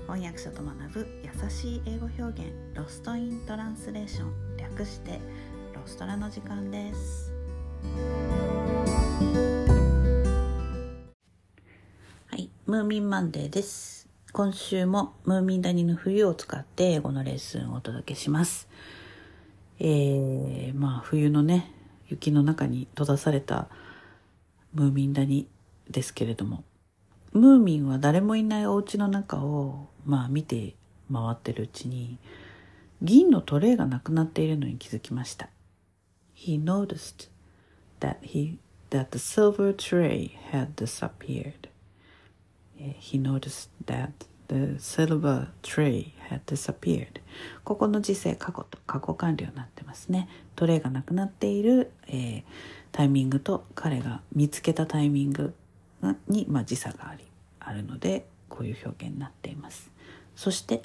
翻訳者と学ぶ優しい英語表現、ロストイントランスレーション、略してロストラの時間です。はい、ムーミンマンデーです。今週もムーミン谷の冬を使って英語のレッスンをお届けします。冬のね、雪の中に閉ざされたムーミン谷ですけれども、ムーミンは誰もいないお家の中を見て回ってるうちに銀のトレイがなくなっているのに気づきました。He noticed that the silver tray had disappeared. He noticed that the silver tray had disappeared. ここの時制過去と過去完了になってますね。トレイがなくなっている、タイミングと彼が見つけたタイミングに、時差があるのでこういう表現になっています。そして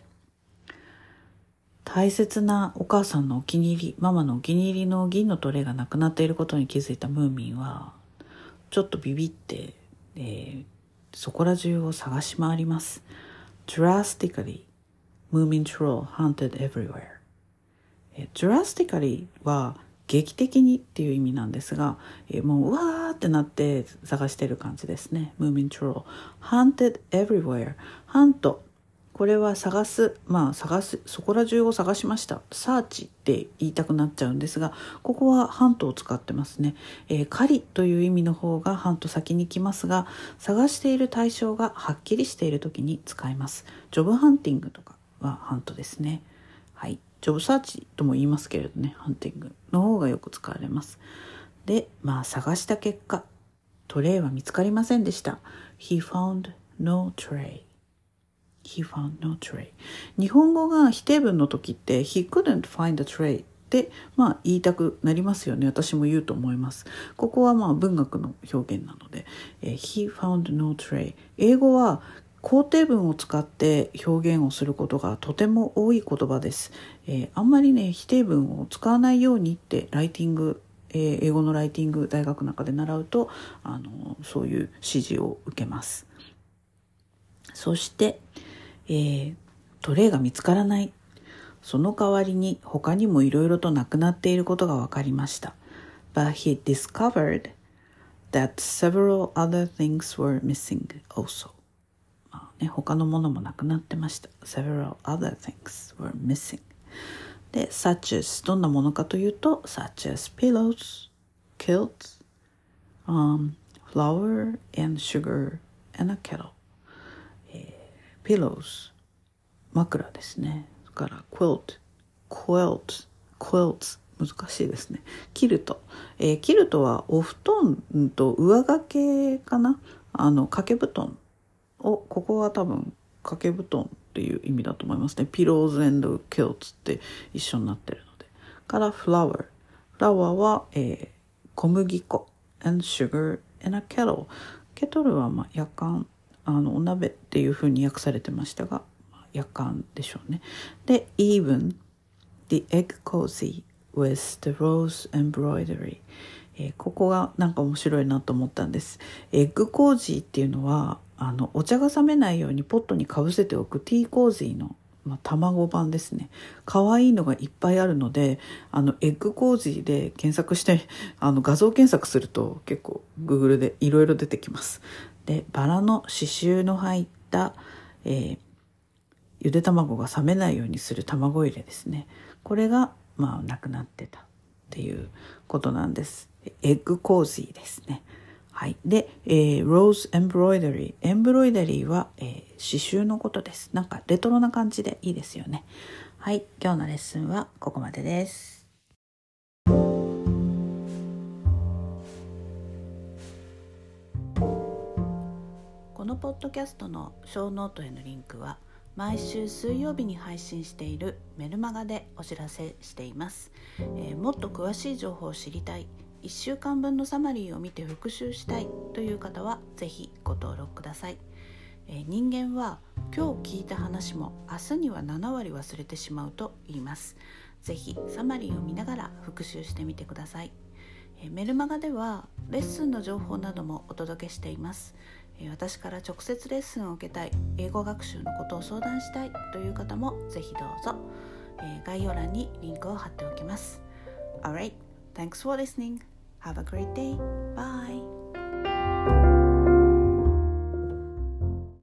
大切なお母さんのお気に入り、ママのお気に入りの銀のトレイがなくなっていることに気づいたムーミンはちょっとビビって、そこら中を探し回ります。Drastically, Moomin Troll hunted everywhere.Drastically は劇的にっていう意味なんですが、もううわーってなって探してる感じですね。Moomin Troll hunted everywhere. Hunt、これは探す、そこら中を探しました。サーチって言いたくなっちゃうんですが、ここはハントを使ってますね。狩りという意味の方がハント先に来ますが、探している対象がはっきりしている時に使います。ジョブハンティングとかはハントですね。はい。ジョブサーチとも言いますけれどね、ハンティングの方がよく使われます。で、探した結果、トレイは見つかりませんでした。He found no tray.He found no tray. 日本語が否定文の時って He couldn't find a tray って言いたくなりますよね。私も言うと思います。ここは文学の表現なので、He found no tray。英語は肯定文を使って表現をすることがとても多い言葉です。あんまりね否定文を使わないようにってライティング、英語のライティング大学の中で習うとそういう指示を受けます。そしてトレイが見つからない。その代わりに他にもいろいろとなくなっていることが分かりました。But he discovered that several other things were missing also. 他のものもなくなってました。Several other things were missing. で、such as どんなものかというと、such as pillows, quilts, flour and sugar and a kettle.Pillows 枕ですね。それから quilts 難しいですね。キルト、キルトはお布団と上掛けかな、掛け布団を、ここは多分掛け布団っていう意味だと思いますね。Pillows and quilts って一緒になってるので。から flour は、小麦粉 and sugar and a kettle。 ケトルはやかん、お鍋っていう風に訳されてましたが、やかんでしょうね。で、even the egg cozy with the rose embroidery、ここがなんか面白いなと思ったんです。エッグコージーっていうのはお茶が冷めないようにポットにかぶせておくティーコージーの卵版ですね。可愛いのがいっぱいあるので、エッグコージーで検索して画像検索すると結構 Google でいろいろ出てきます。で、バラの刺繍の入った、ゆで卵が冷めないようにする卵入れですね。これがなくなってたっていうことなんです。エッグコージーですね。はい。で、ローズエンブロイダリー。エンブロイダリーは、刺繍のことです。なんかレトロな感じでいいですよね。はい。今日のレッスンはここまでです。このポッドキャストのショーノートへのリンクは毎週水曜日に配信しているメルマガでお知らせしています。もっと詳しい情報を知りたい、1週間分のサマリーを見て復習したいという方はぜひご登録ください。人間は今日聞いた話も明日には7割忘れてしまうと言います。ぜひサマリーを見ながら復習してみてください。メルマガではレッスンの情報などもお届けしています。 私から直接レッスンを受けたい、英語学習のことを相談したいという方もぜひどうぞ。概要欄にリンクを貼っておきます。Alright, thanks for listening. Have a great day. Bye.